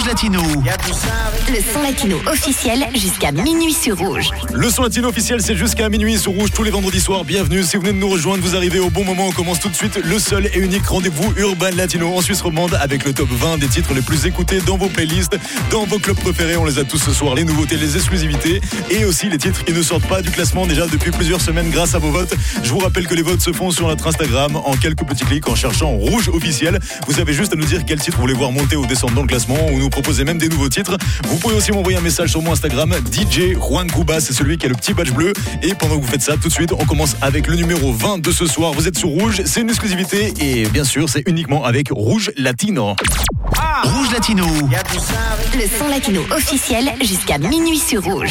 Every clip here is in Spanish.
Latino. Le son latino officiel jusqu'à minuit sur Rouge. Le son latino officiel, c'est jusqu'à minuit sur Rouge tous les vendredis soirs. Bienvenue, si vous venez de nous rejoindre, vous arrivez au bon moment. On commence tout de suite le seul et unique rendez-vous urbain latino en Suisse romande avec le top 20 des titres les plus écoutés dans vos playlists, dans vos clubs préférés. On les a tous ce soir, les nouveautés, les exclusivités et aussi les titres qui ne sortent pas du classement déjà depuis plusieurs semaines grâce à vos votes. Je vous rappelle que les votes se font sur notre Instagram en quelques petits clics en cherchant Rouge officiel. Vous avez juste à nous dire quel titre vous voulez voir monter ou descendre dans le classement ou nous proposer même des nouveaux titres. Vous pouvez aussi m'envoyer un message sur mon Instagram, DJ Juan Cuba, c'est celui qui a le petit badge bleu. Et pendant que vous faites ça, tout de suite, on commence avec le numéro 20 de ce soir. Vous êtes sur Rouge, c'est une exclusivité et bien sûr, c'est uniquement avec Rouge Latino. Rouge Latino. Le son latino officiel jusqu'à minuit sur Rouge.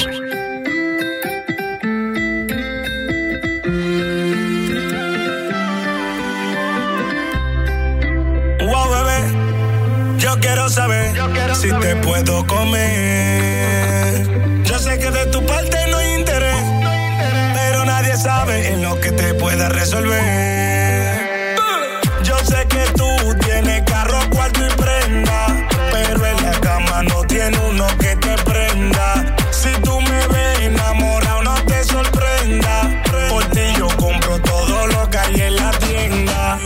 Wow, bebé, yo quiero saber si te puedo comer. Yo sé que de tu parte no hay interés, pero nadie sabe en lo que te pueda resolver. Yo sé que tú tienes carro, cuarto y prenda, pero en la cama no tiene uno que te prenda. Si tú me ves enamorado, no te sorprenda. Por ti yo compro todo lo que hay en la tienda.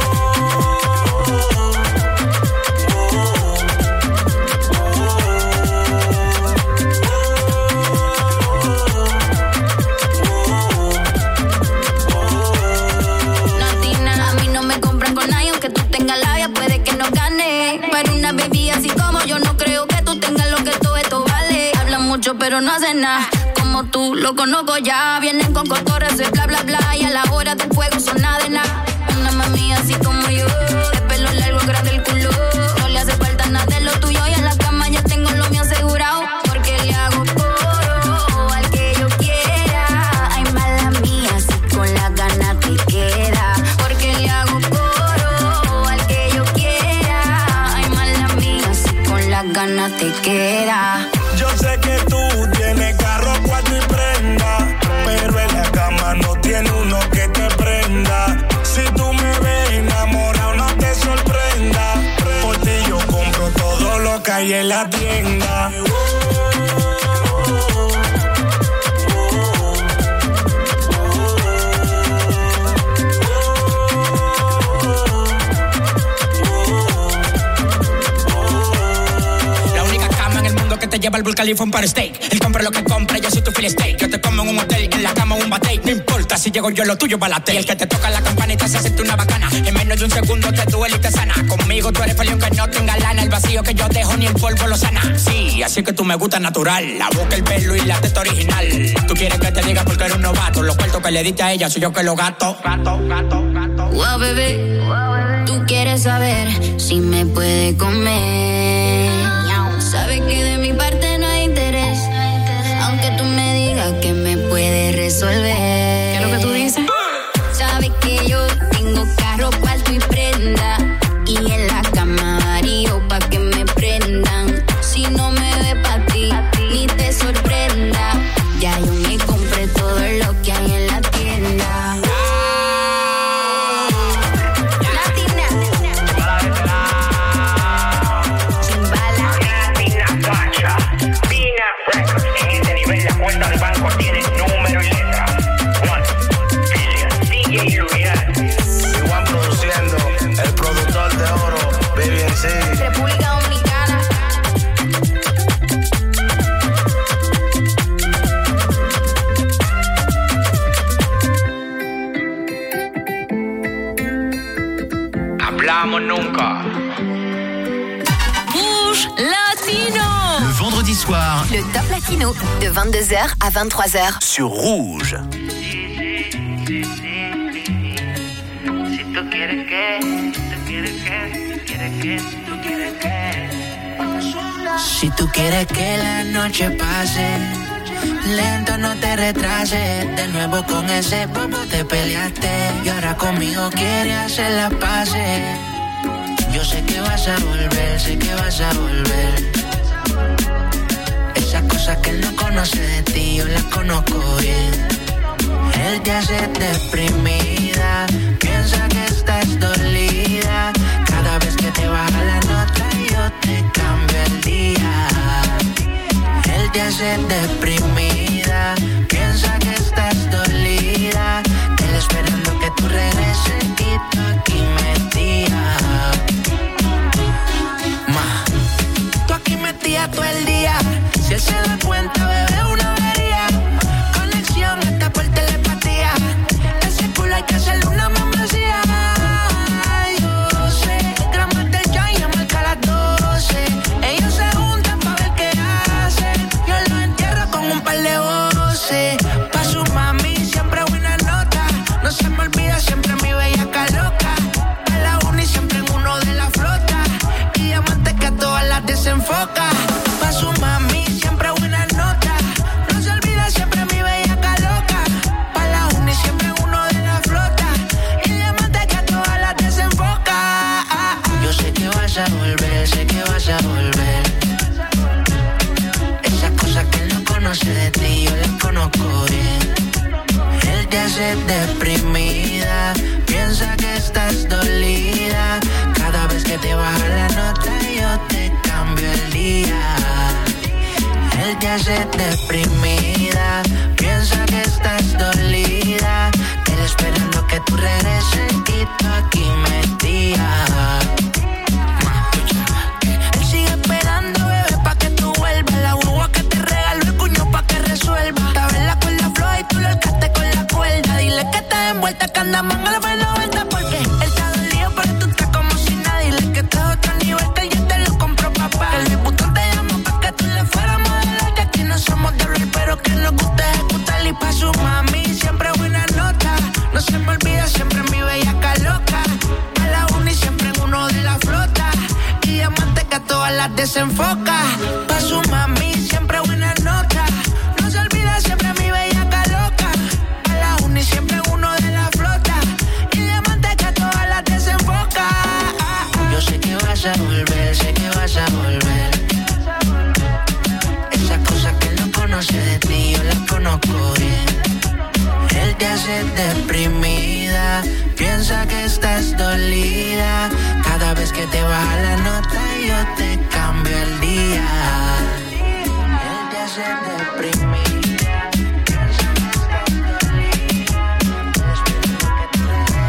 Puede que no gane, pero una baby así como yo no creo que tú tengas lo que todo esto vale. Hablan mucho pero no hacen nada, como tú lo conozco ya. Vienen con cotorras de bla bla bla y a la hora del fuego son nada de nada. Una mami así como yo, de pelo largo, grande el culo, no le hace falta nada de lo tuyo y en la cama ya tengo lo mío asegurado. Porque le hago coro al que yo quiera. Ay, mala mía, si con la gana te queda. Porque le hago gana te queda. Yo sé que tú tienes carro, cuarto y prenda, pero en la cama no tiene uno que te prenda. Si tú me ves enamorado, no te sorprenda. Por ti yo compro todo lo que hay en la tienda. Que te lleva al Burj Khalifa un par steak. Él compra lo que compra, yo soy tu filet steak. Yo te como en un hotel, en la cama un bate. No importa si llego yo, lo tuyo balate. Y el que te toca la campanita se siente una bacana. En menos de un segundo te duele y te sana. Conmigo tú eres feliz aunque no tenga lana. El vacío que yo dejo ni el polvo lo sana. Sí, así que tú me gustas natural. La boca, el pelo y la teta original. Tú quieres que te diga porque eres un novato. Los cuartos que le diste a ella soy yo que los gato. Wow, bebé, tú quieres saber si me puede comer. Sabes que de mi parte no hay interés, aunque tú me digas que me puedes resolver. ¿Qué es lo que tú dices? Sabes que yo tengo carro, cuarto y prenda, y en la cama varío pa' que me prendan. Si no me ve pa' ti, ni te sorprenda. Ya yo me compré todo lo que hay en la tienda. Cuenta de banco tiene número y letra. Juan, DJ Luyan. Juan produciendo, el productor de oro, Baby en sí. República Dominicana. Hablamos nunca. Rouge Latino. Le vendredi soir, Le top latino de 22h à 23h sur Rouge. Si tú quieres que la noche pase lento, no te retrases. De nuevo con ese bobo te peleaste y ahora conmigo quieres hacer las paces. Yo sé que vas a volver, sé que vas a volver. Esas cosas que él no conoce de ti, yo las conozco bien. Él te hace deprimida, piensa que estás dolida. Cada vez que te baja la nota yo te cambio el día. hace deprimida. Piensa que estás dolida. Él esperando que tú regreses y tú aquí metida. Tú aquí metida todo el día. Si él se da cuenta, bebé, una avería. Conexión hasta por telepatía. Ese culo hay que hacerle una membresía. Yo sé, gramos del joint y marca las 12. Ellos se juntan pa' ver qué hacen. Yo lo entierro con un par de voces. Pa' su mami siempre buena nota. No se me olvida siempre mi bellaca loca. A la uni siempre en uno de la flota. Y diamantes que a todas las desenfoca. Pa' su mami siempre buena nota. No se olvida siempre mi bellaca loca. Pa' la uni siempre en uno de la flota. Y diamantes que a todas las desenfoca. Yo sé que vas a volver, sé que vas a volver. Esas cosas que él no conoce de ti, yo las conozco bien. Él te hace deprimida. Piensa que estás dolida. Cada vez que te baja la nota, yo te cambio el día. Él te hace deprimida. Piensa que estás dolida. Él esperando que tú regreses y tú aquí metida. Él sigue esperando, bebé, pa' que tú vuelvas. La guagua que te regaló el cuño pa' que resuelva. Estaba en la cuerda floja y tú lo alcaste con la cuerda. Dile que estás envuelta, que anda manga la buena vuelta. Porque él está dolido, pero tú estás como si nada. Dile que estás a otro nivel, que ya te lo compró papá. El diputado te llamó pa' que tú le fueras modelar. Que aquí no somos de hablar, pero que nos gusta ejecutar. Y pa' su mami siempre buena nota. No se me olvida siempre mi bellaca loca. A la uni siempre en uno de la flota. Y diamantes que a todas las desenfoca. Pa' su mami siempre buena nota. No se olvida siempre mi bellaca loca. A la uni siempre en uno de la flota. Y diamantes que a todas las desenfoca. Yo sé que vas a volver, sé que vas a volver. Esas cosas que él no conoce de ti, yo las conozco bien. Él te hace deprimida. Piensa que estás dolida. Cada vez que te baja la nota, yo te cambio el día. Él te hace deprimida. Piensa que estás dolida. Espero que tú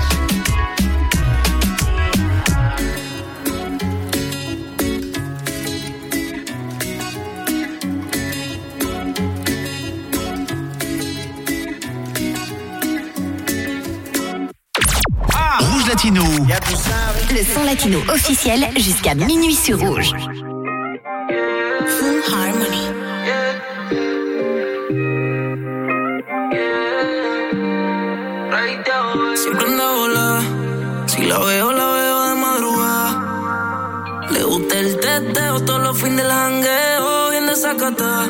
Rouge Latino. Le son latino officiel jusqu'à minuit sur Rouge. Full Harmony. Siempre anda volada. Si la veo de madrugada. Le gusta el teteo todos los fines del jangueo. Bien desacatada.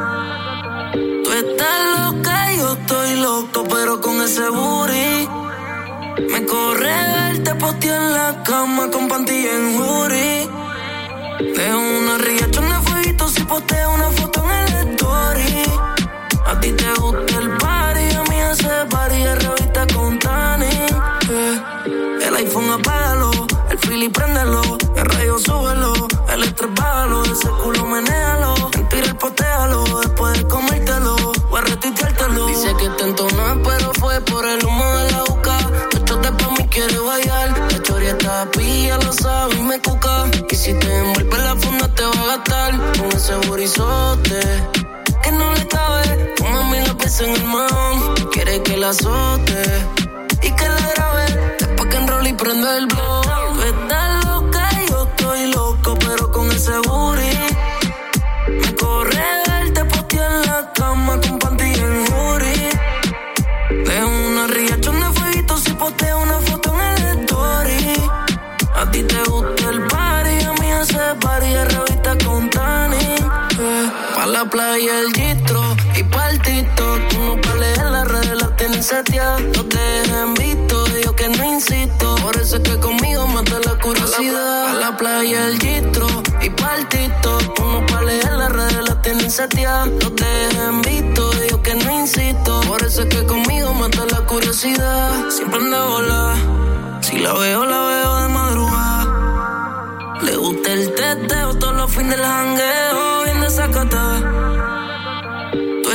Tú estás loca y yo estoy loco, pero con ese booty me corre verte postear en la cama con panty en jury. Dejo una riachona de fueguito si posteo una foto en el story. A ti te gusta el party, a mí ese party es revista con tanning. El iPhone apágalo, el Philly préndelo, el radio súbelo, el estrés bájalo, ese culo menéalo, en Twitter postéalo, después de comértelo, voy a retuiteártelo. Dice que te entonó, pero fue por el humo de la boca. Te pa' mí quiere bailar. La choria está pilla, lo sabe y me cuca. Y si te envuelve la funda te va a gastar con ese burizote que no le cabe. Tu mami la pesa en el mahón. Quiere que la azote y que la grabe. Después que enrolle y prende el blog. Tú estás loca y yo estoy loco, pero con ese booty me corre verte postear en la cama con panty en jury. Dejo una riachona de fueguito si posteo una foto en el story. A ti te gusta el party, a mí ese party es revista con tanning. Pa' la playa el gistro y pa' el TikTok. Tú no pa' leer las redes, las tienes seteadas. No te dejen visto, yo que no insisto. Por eso es que conmigo mata la curiosidad. Pa' la playa el gistro y pa' el TikTok. Tú no pa' leer las redes, las tienes seteadas. No te dejen visto, yo que no insisto. Por eso es que conmigo mata la curiosidad. Siempre anda volada. Si la veo de madrugada. Le gusta el teteo todos los fines del jangueo. Bien desacatada.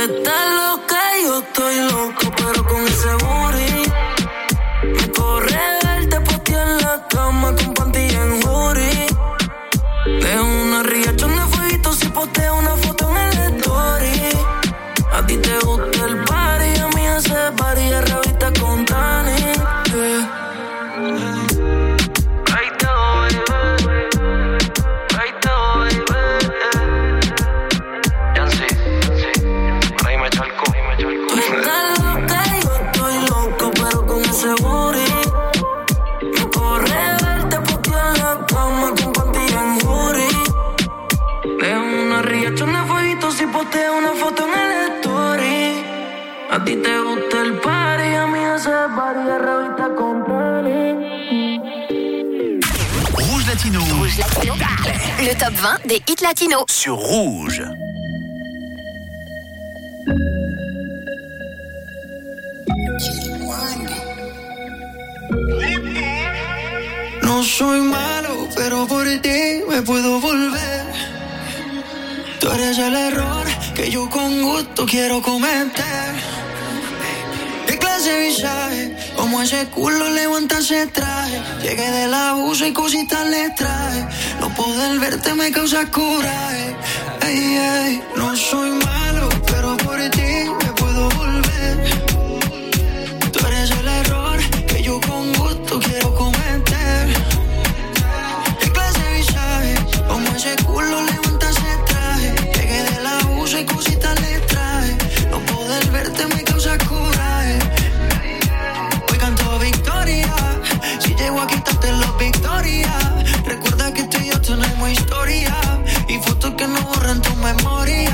estás loca y yo estoy loco, pero con ese booty me corre verte postear en la cama con panty en hoodie. De una riachón de fueguito si posteo una foto en el story. A ti te gusta el party, a mí ese party es revista con Tani. Si posteo una foto en el story. A ti te gusta el party, a mí ese party es revista con Tani. Rouge Latino. Rouge Latino. Le top 20 des hits latinos. Sur Rouge. No soy malo, pero por ti me puedo volver. Tú eres el error que yo con gusto quiero cometer. ¿Qué clase de visaje? Como ese culo levanta ese traje. Llegué del abuso y cositas le traje. No poder verte me causa coraje. Ey, ey. No soy malo, pero por ti me puedo volver. Tú eres el error que yo con gusto quiero cometer. ¿Qué clase de visaje? Como ese culo levanta ese traje. Llegué del abuso y cositas le traje. No poder verte me causa coraje. Hoy canto victoria. Si llego a quitarte la victoria. Recuerda que tú y yo tenemos historia. Y fotos que no borran tu memoria.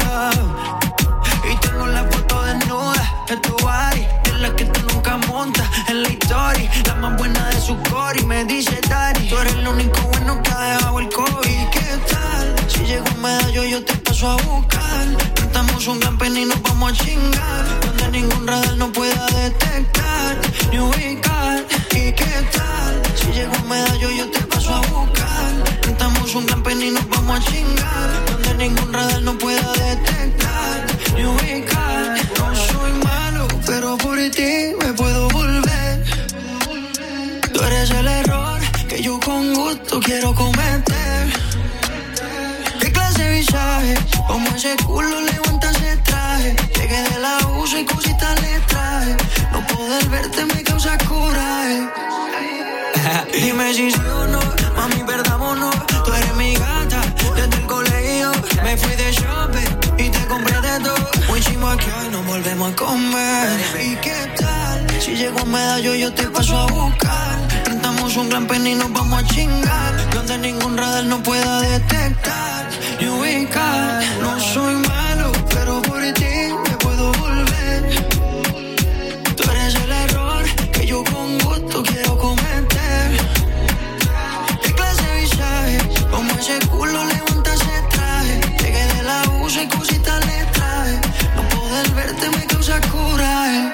Y tengo la foto desnuda de tu body. Es la que tú nunca montas en la historia. La más buena de su core y me dice Dari. Tú eres el único bueno que ha dejado el COVID. ¿Qué tal? Si llego un medallo yo te paso a buscar. Cantamos un campeón y nos vamos a chingar. Donde ningún radar no pueda detectar ni ubicar. ¿Y qué tal? Si llego un medallo yo te paso a buscar. Cantamos un campeón y nos vamos a chingar. Donde ningún radar no pueda detectar ni ubicar. No soy malo, pero por ti me puedo volver. Tú eres el error que yo con gusto quiero cometer. ¿Qué clase de visaje? Como ese culo levanta ese traje. Llegué del abuso y cositas le traje. No poder verte me causa coraje. Dime si sí o no, mami, perdámonos. Tú eres mi gata, desde el colegio me fui de shopping y te compré de todo. Muy chimo aquí hoy nos volvemos a comer. ¿Y qué tal? Si llego a medallo yo te paso a buscar. Rentamos un gran pen y nos vamos a chingar. Donde ningún radar no pueda detectar ni ubicar. No soy malo, pero por ti me puedo volver. Tú eres el error que yo con gusto quiero cometer. ¿Qué clase de visaje? Como ese culo levanta ese traje. Llegué del abuso y cositas le traje. No poder verte me causa coraje.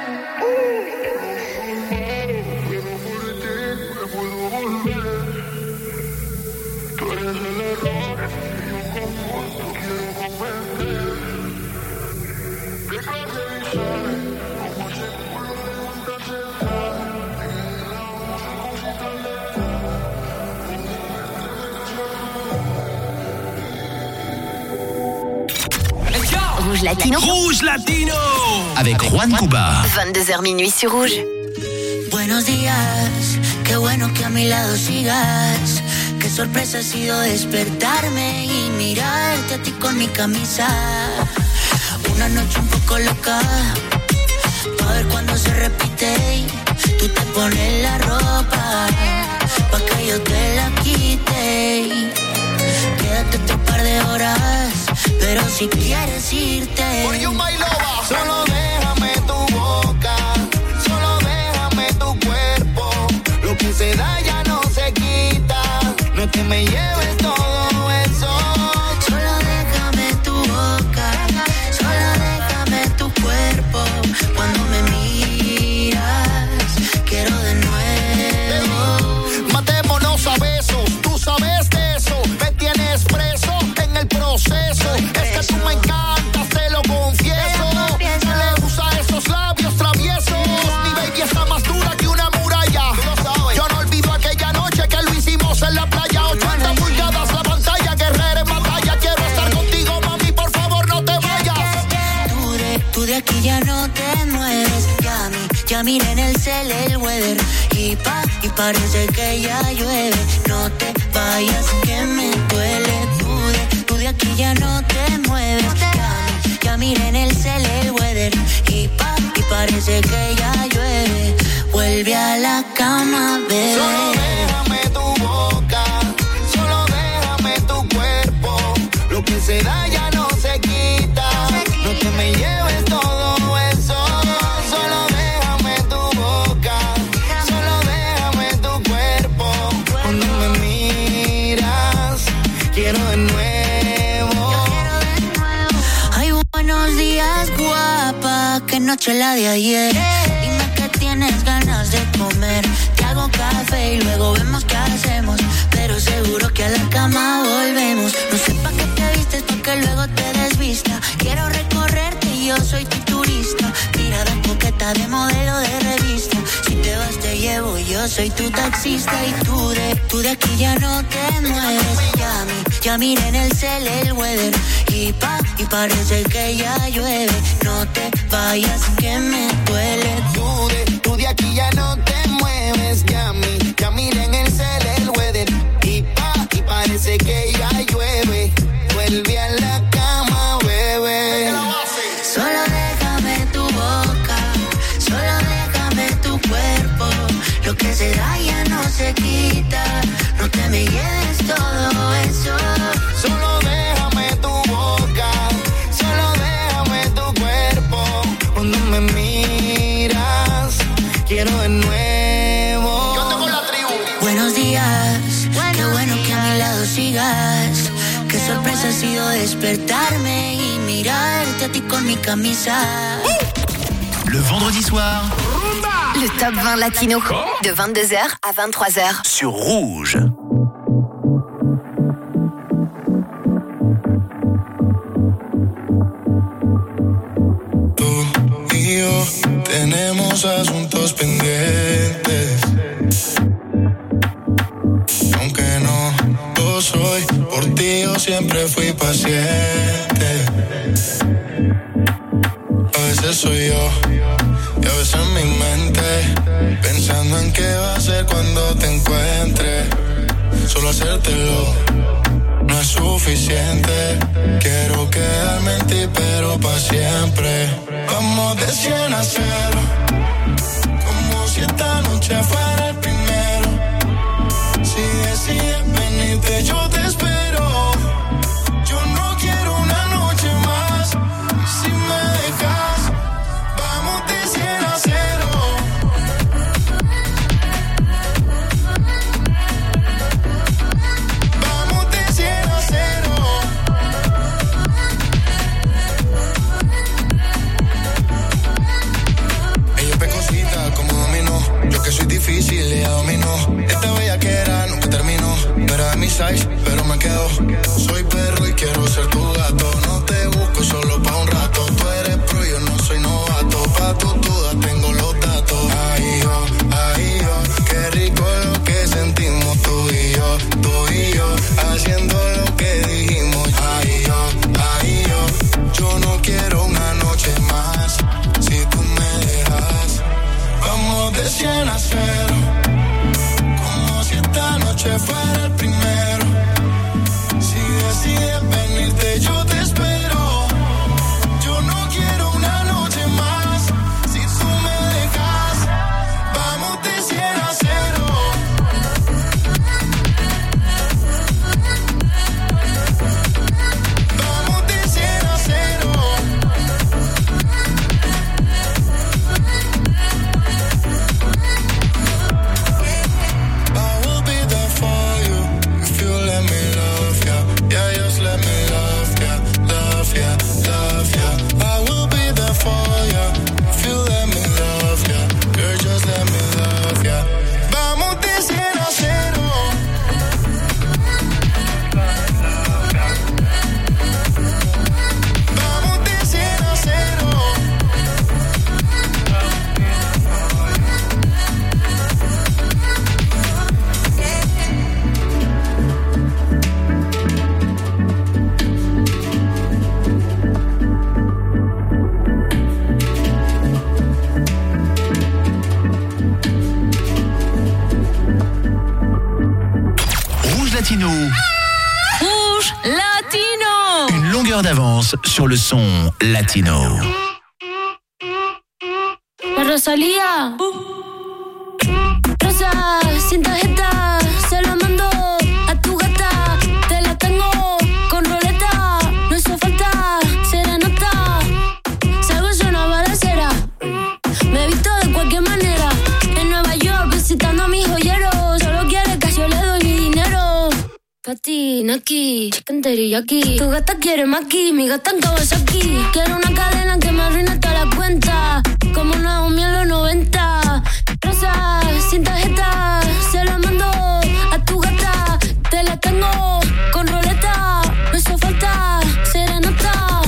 Rouge Latino. Rouge Latino. Avec Juan Cuba. 22h minuit sur Rouge. Buenos días, qué bueno que a mi lado sigas. Qué sorpresa ha sido despertarme y mirarte a ti con mi camisa. Una noche un poco loca, pa' ver cuando se repite. Tú te pones la ropa, pa' que yo te la quite. Quédate otro par de horas, pero si quieres irte, solo déjame tu boca, solo déjame tu cuerpo. Lo que se da ya no se quita, no es que me lleves todo eso. Solo déjame tu boca, solo déjame tu cuerpo. Cuando me miras, quiero de nuevo. Matémonos a besos, tú sabes de eso. Me tienes preso en el proceso. Es que tú me encantas, te lo confieso. parece que ya llueve. No te vayas que me duele. Tú de aquí ya no te mueves. Ya miré en el cel el weather y parece que ya llueve. Vuelve a la cama, bebé. Solo déjame tu boca, solo déjame tu cuerpo. Lo que se da ya no se quita. No te me lleves todo eso. Solo déjame tu boca, solo déjame tu cuerpo. Cuando me miras, quiero de nuevo. Ay, buenos días, guapa. Qué noche la de ayer. Dime que tienes ganas de comer. Te hago café y luego vemos qué hacemos. Pero seguro que a la cama volvemos. No sé pa' qué te vistes, pa' que luego te desvista. Quiero recorrerte y yo soy tu turista. Mirada coqueta de modelo de revista. Si te vas te llevo, yo soy tu taxista. Y tú de aquí ya no te mueves. Ya miré en el cel el weather y parece que ya llueve. No te vayas que me duele. Tú de aquí ya no te mueves. Ya miré en el cel el weather y parece que ya llueve. Vuelve a la cama, bebé. Solo déjame tu boca, solo déjame tu cuerpo. Lo que se da ya no se quita. No te me lleves todo eso. Solo déjame tu boca, solo déjame tu cuerpo. Cuando me miras, quiero de nuevo. Yo tengo la tribu. Buenos días, qué bueno que a mi lado sigas. Qué sorpresa ha sido despertarme y mirarte a ti con mi camisa. Le vendredi soir, Le top 20 latino de 22h à 23h sur Rouge. Tú y yo tenemos asuntos pendientes. Aunque no lo soy, por ti yo siempre fui paciente. A veces soy yo y a veces en mi mente, pensando en qué va a ser cuando te encuentre. Solo hacértelo no es suficiente. Quiero quedarme en ti, pero pa' siempre. Vamos de 100 a 0, como si esta noche fuera el primero. Si decides venirte, yo te espero. Yo no quiero una noche más. Si me dejas, vamos de 100 a 0. Vamos de 100 a 0. Ella es pecosita como dominó. Yo que soy difícil, ella dominó. Esta bellaquera nunca terminó. No era de mi size, pero me quedo. Soy perro y quiero ser tu gato. No te busco solo pa' un rato. Tú eres pro, yo no soy novato. Pa' tus dudas tengo los datos. Ay, yo, qué rico lo que sentimos tú y yo, haciendo lo que dijimos. Ay, yo no quiero una noche más. Si tú me dejas, vamos de 100 a 0. Como si esta noche fuera el primero. Si decides venirte, yo te espero. Yo no quiero una noche más. Si tú me dejas, vamos de 100 a 0. Vamos de 100 a 0. I will be there for you if you let me love ya. Yeah, just let me love ya. Latino. Rouge Latino. Une longueur d'avance sur le son latino. La Rosalía. Rosa, sin tarjeta, se la mando a tu gata. Te la tengo con roleta, no hizo falta serenata. Salgo yo una balacera, me visto de cualquier manera. En Nueva York visitando a mis joyeros. Solo quiere que yo le doy mi dinero. Patina aquí, chicken teriyaki. Tu gata quiere maki, mi gata en Kawasaki. Quiero una cadena que me arruine toda la cuenta, como Naomi en los 90. Rosa, sin tarjeta, se la mando a tu gata. Te la tengo con roleta, no hizo falta serenata.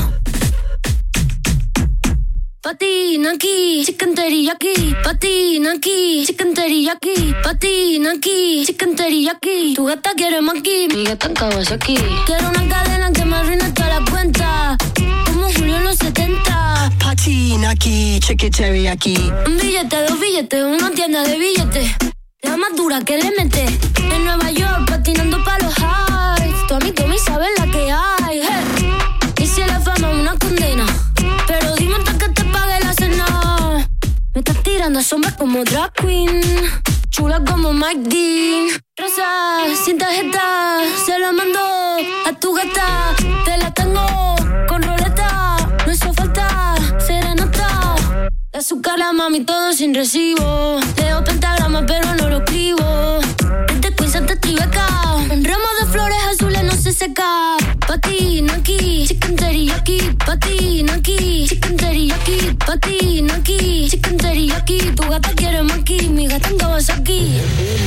Patina aquí, chicken teriyaki. Patina aquí, chicken teriyaki. Patina aquí, chicken teriyaki. Tu gata quiere maki, mi gata en Kawasaki. Quiero una cadena que me arruine toda la cuenta, como Julio en los 70. Patina aquí, chicken teriyaki. Un billete, dos billetes, una tienda de billetes. La más dura que le mete. En Nueva York patinando pa' los highs. Tu amigo me sabe la que hay. Hey. Y si la fama es una condena, pero dime hasta que te pague la cena. Me estás tirando sombras como drag queen, chula como Mike Dean. Rosa, sin tarjeta, se la mando a tu gata. Te la tengo con roleta, no hizo falta serenata. De azúcar la mami, todo sin recibo. Leo pentagrama pero no lo escribo. Este quiz te tribeca, un ramo de flores azules no se seca. Patina aquí, chicken teriyaki. Patina aquí, chicken teriyaki. Patina aquí, chicken teriyaki. Tu gata quiere maki, mi gata en Kawasaki.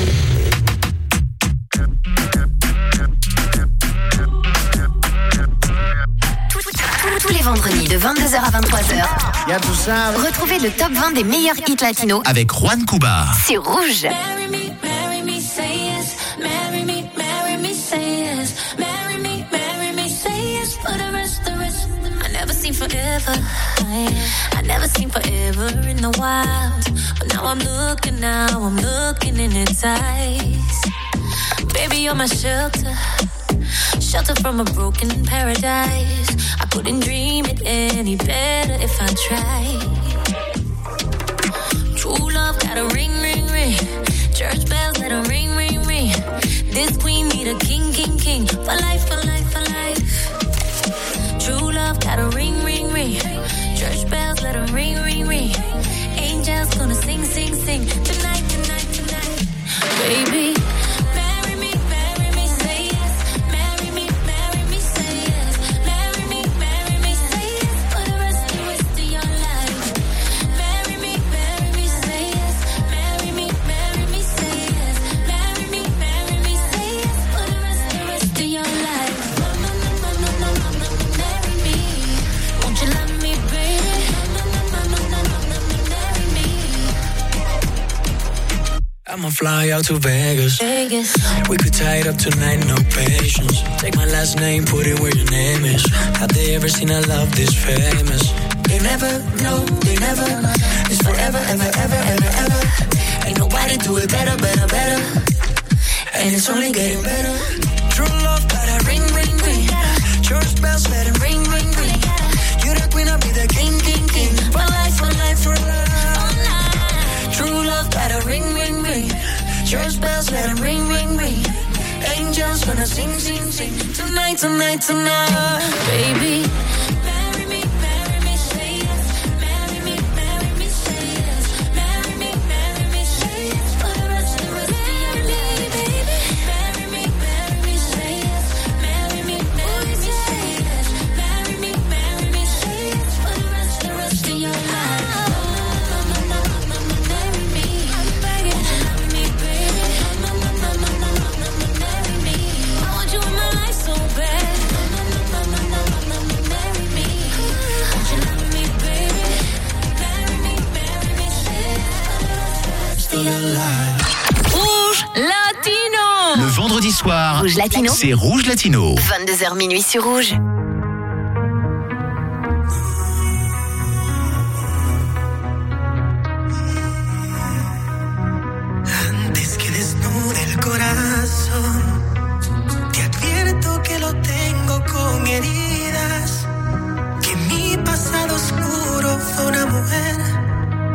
Tous les vendredis de 22h à 23h. Retrouvez le top 20 des meilleurs hits latinos avec Juan Cuba. sur Rouge. Marry me, say yes. Marry me, say yes. Marry me, say yes. For the rest. I never seen forever. I never seen forever in the wild. But now I'm looking in its eyes. Baby, you're my shelter from a broken paradise. I couldn't dream it any better if I tried. True love got a ring, ring, ring. Church bells let a ring, ring, ring. This queen need a king, king, king. For life, for life, for life. True love got a ring, ring, ring. Church bells let a ring, ring, ring. Angels gonna sing, sing, sing. Tonight, tonight, tonight. Baby, I'ma fly out to Vegas. We could tie it up tonight, no patience. Take my last name, put it where your name is. Have they ever seen a love this famous? They never know, they never. It's forever, ever, ever, ever, ever. Ain't nobody do it better, better, better. And it's only getting better. True love, got a ring, ring, ring. Church bells, let it ring, ring, ring. You the queen, I'll be the king, king, king. For life, for life, for life. True love, got a ring, ring, ring. Church bells, let them ring, ring, ring. Angels gonna sing, sing, sing. Tonight, tonight, tonight. baby. Rouge Latino. Le vendredi soir, Rouge Latino. c'est Rouge Latino. 22h minuit sur Rouge.